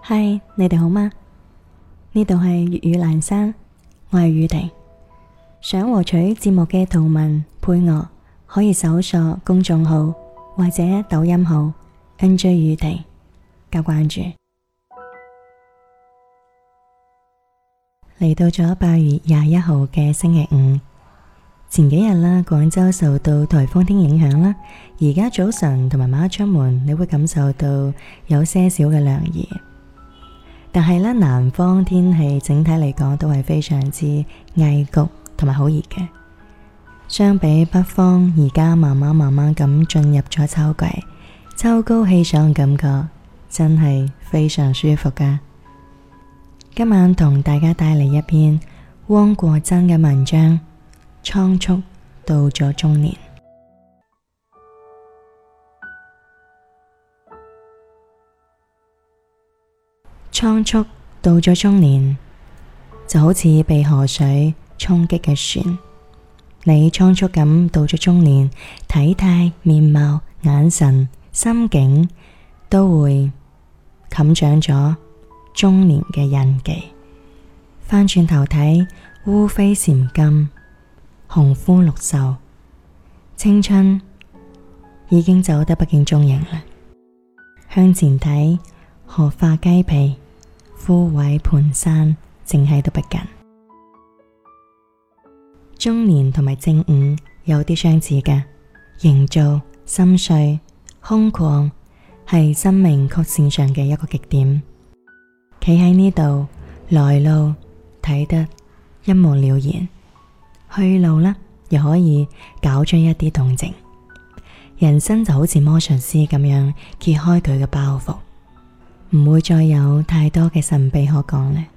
嗨，你哋好嗎？呢度係粵語闌珊，我係宇婷。想獲取節目嘅圖文配樂，可以搜索公眾號或者抖音號 NJ 宇婷加關注。嚟到咗8月21號嘅星期五，前幾日啦，廣州受到颱風天影響啦，而家早晨同埋晚黑出門，你會感受到有些少嘅涼意。但係咧，南方天氣整體嚟講都係非常之翳焗同埋好熱嘅。相比北方，而家慢慢咁進入咗秋季，秋高氣爽嘅感覺真係非常舒服噶。今晚同大家帶嚟一篇汪國真嘅文章，倉促到咗中年。倉促到咗中年，就好似被河水衝擊嘅船。你倉促咁到咗中年，體態、面貌、眼神、心境都會冚上咗中年嘅印記。翻轉頭睇，烏飛蟬金，紅膚綠瘦，青春已經走得不見蹤影啦。向前睇，荷花雞皮，枯萎蹣跚，正喺度不近。中年同埋正午有啲相似嘅，營造、心碎、空曠，係生命曲線上嘅一個極點。企喺呢度，來路睇得一目了然，去路呢又可以搞出一啲動靜。人生就好似魔術師咁樣揭開佢嘅包袱，唔會再有太多嘅神秘可講咧。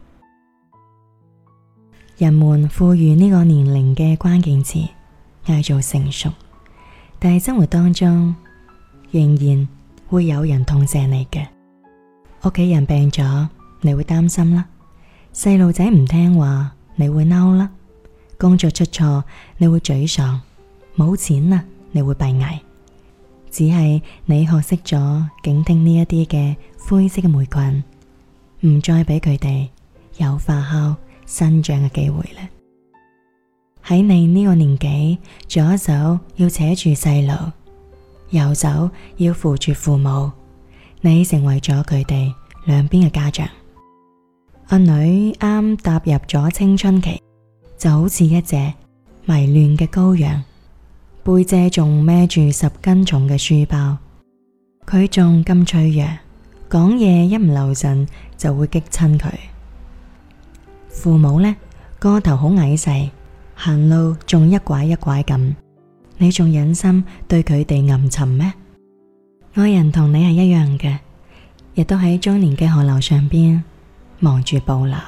人們賦予呢個年齡嘅關鍵詞嗌做成熟，但係生活當中仍然會有人痛錫你嘅。屋企人病咗，你會擔心啦；細路仔唔聽話，你會嬲啦；工作出錯，你會沮喪；冇錢啦，你會閉翳。只係你學識咗警惕呢一啲嘅灰色嘅霉菌，唔再俾佢哋有發酵生長嘅機會啦。喺你呢個年紀，左手要扯住細路，右手要扶住父母，你成為咗佢哋兩邊嘅家長。阿女啱踏入咗青春期，就好似一隻迷亂嘅羔羊，背脊仲孭住10斤重嘅書包，佢仲咁脆弱，講嘢一唔留神就會激親佢。父母呢，個頭好矮細，行路仲一拐一拐咁，你仲忍心對佢哋吟沉咩？愛人同你係一樣嘅，亦都喺中年嘅河流上邊忙住捕撈。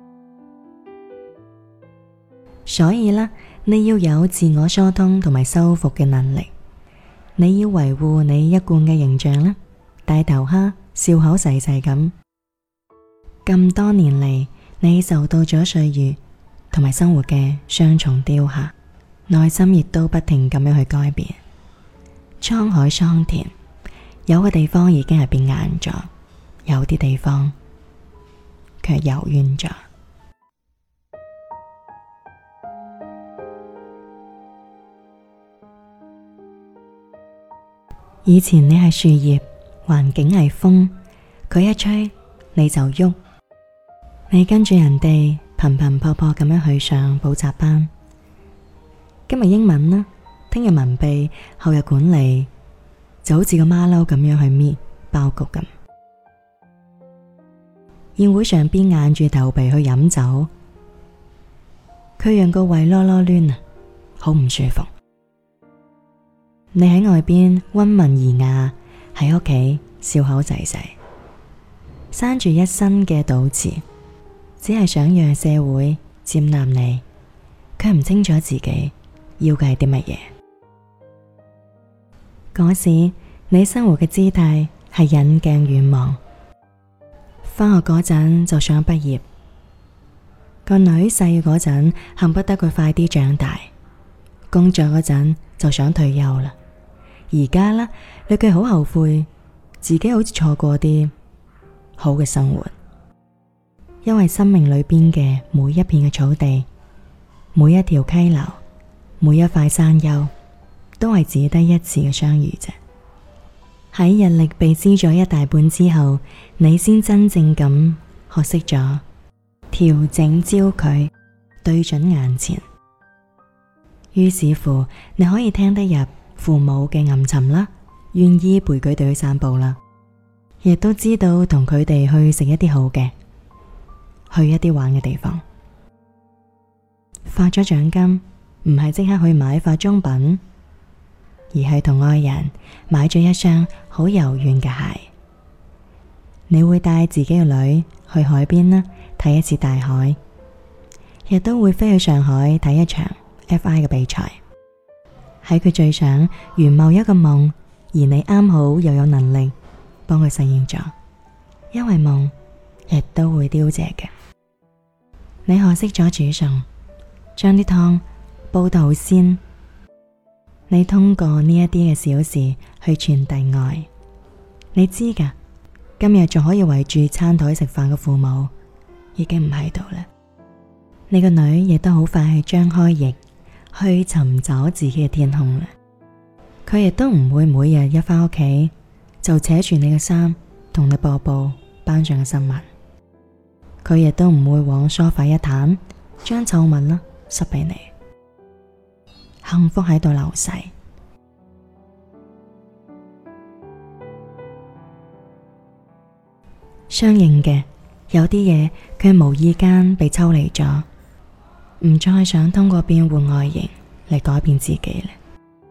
所以呢，你要有自我疏通同埋修復嘅能力，你要維護你一貫嘅形象啦，大頭蝦，笑口噬噬咁。咁多年嚟，你受到咗歲月同埋生活嘅雙重雕刻，內心亦都不停咁樣去改變。滄海桑田，有個地方已經係變硬咗，有啲地方卻柔軟咗。以前你係樹葉，環境係風，佢一吹你就喐，你跟住人哋頻頻撲撲咁樣去上補習班。今日英文啦，聽日文秘，後日管理，就好似個馬騮咁樣去搣爆谷咁。宴會上邊硬住頭皮去飲酒，佢讓個胃囉囉攣啊，好唔舒服。你喺外邊溫文爾雅，喺屋企笑口噬噬，生住一身嘅倒刺，只係想讓社會接納你，卻唔清楚自己要嘅係啲乜嘢。嗰時你生活嘅姿態係引鏡遠望，返學嗰陣就想畢業，個女細嗰陣恨不得佢快啲長大，工作嗰陣就想退休啦。而家呢，你佢好後悔自己好似錯過啲好嘅生活。因為生命裏邊嘅每一片嘅草地，每一條溪流，每一塊山丘，都係只得一次嘅相遇啫。喺日曆被撕咗一大半之後，你先真正咁學識咗調整焦距，對準眼前。於是乎，你可以聽得入父母嘅吟沉啦，願意陪佢哋去散步啦，亦都知道同佢哋去食一啲好嘅，去一啲玩嘅地方。發咗獎金唔係即刻去買化妝品，而係同愛人買咗一雙好柔軟嘅鞋。你會帶自己嘅女去海邊啦，睇一次大海，亦都會飛去上海睇一場 FI 嘅比賽。喺佢最想圓某一個夢，而你啱好又有能力幫佢實現咗，因為夢亦都會凋謝嘅。你學識咗煮餸，將啲湯煲到好鮮。你通過呢一啲嘅小事去傳遞愛。你知㗎，今日仲可以圍住餐台食飯嘅父母已經唔喺度啦。你個女亦都好快去張開翼去尋找自己嘅天空啦。佢亦都唔會每日一返屋企就扯住你嘅衫同你播報班上嘅新聞。佢亦都唔會往梳化一攤，將臭襪啦塞俾你。幸福喺度流逝。相應嘅，有啲嘢佢無意間被抽離咗，唔再想通過變換外形嚟改變自己啦。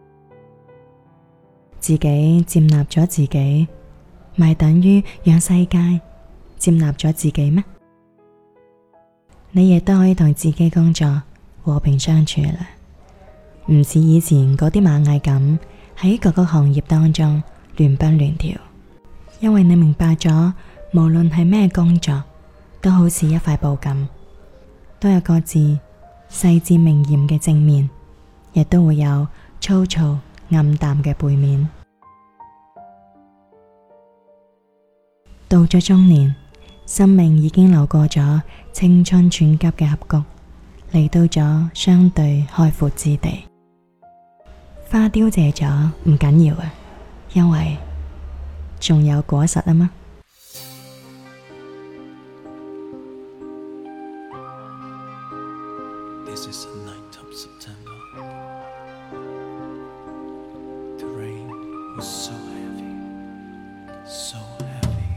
自己接納咗自己，咪等於讓世界接納咗自己咩？你亦都可以同自己工作和平相處啦，唔似以前嗰啲螞蟻咁喺各個行業當中亂蹦亂跳。因為你明白咗，無論係咩工作，都好似一塊布咁，都有各自細緻明豔嘅正面，亦都會有粗糙暗淡嘅背面。到咗中年，生命已經流過咗青春寸急嘅峽谷，嚟到咗相對開闊之地。花凋謝咗唔緊要啊，因為仲有果實啊嘛。 This is the night of September. The rain was so heavy, so heavy.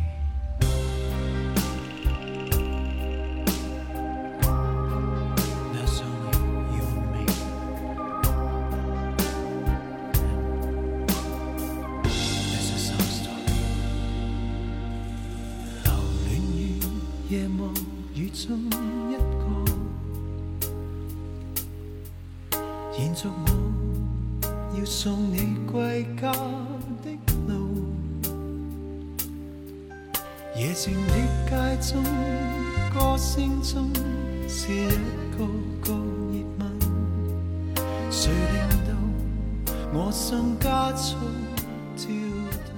There's only you and me. This is our story. 留戀於夜幕雨中一個。延續我要送你歸家的路，夜靜的街中，歌聲中是一個個熱吻，誰令到我心加速跳動。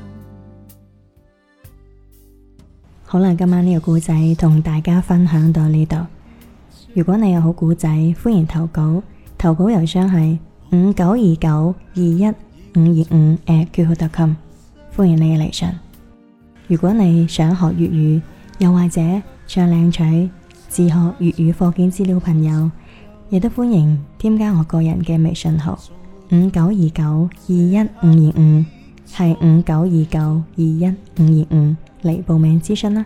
好啦，今晚呢個故仔同大家分享到呢度。如果你有好故仔，歡迎投稿。投稿郵箱係5929215525@qq.com，歡迎你嘅嚟信。如果你想學粵語，又或者想領取自學粵語課件資料，朋友亦都歡迎添加我個人嘅微信號5929215525，係5929215525嚟報名諮詢啦。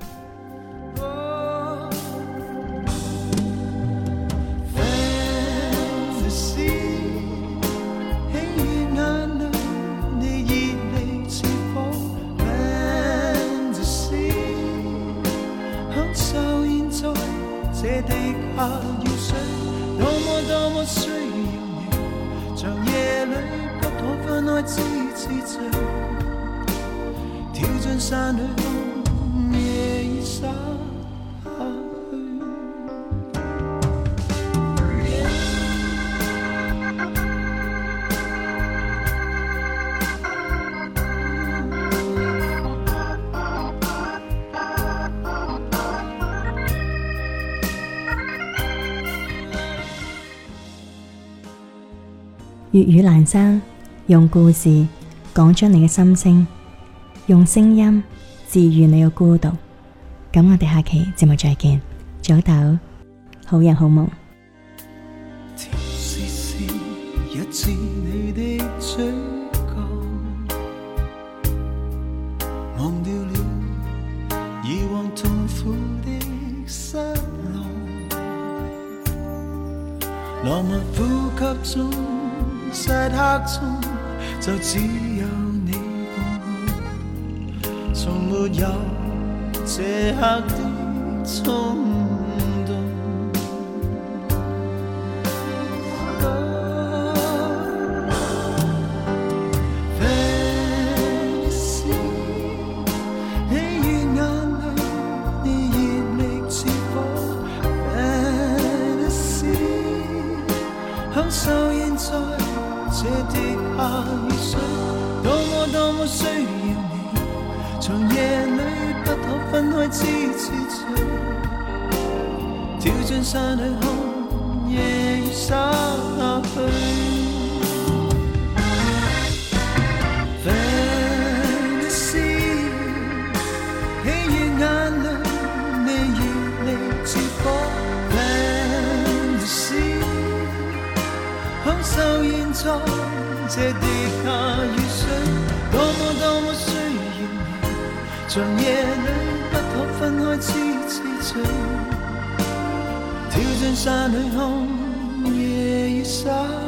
這地下雨水，多麼需要你，長夜裏不可分開知醉，跳進山裏風夜已灑下去。 粵語闌珊，用故事講出你嘅心聲，用聲音治愈你嘅孤獨。咁我哋下期節目再見，早唞，好人好夢。 甜絲絲一至你的嘴角，忘掉了以往痛苦的失落，浪漫呼吸中漆黑中就只有你共我，從沒有這刻的衝動。Fantasy， 喜悅眼淚，你熱力似火。Fantasy， 享受現在這跌下雨水，多麼需要你，長夜裏不可分開痴醉，跳進山裏看夜雨灑去。Fantasy， 喜悅眼淚，你熱力似火。Fantasy， 享受現在這跌下雨水，多麼需要你，長夜裏不可分開痴醉，跳進山裏看夜雨灑。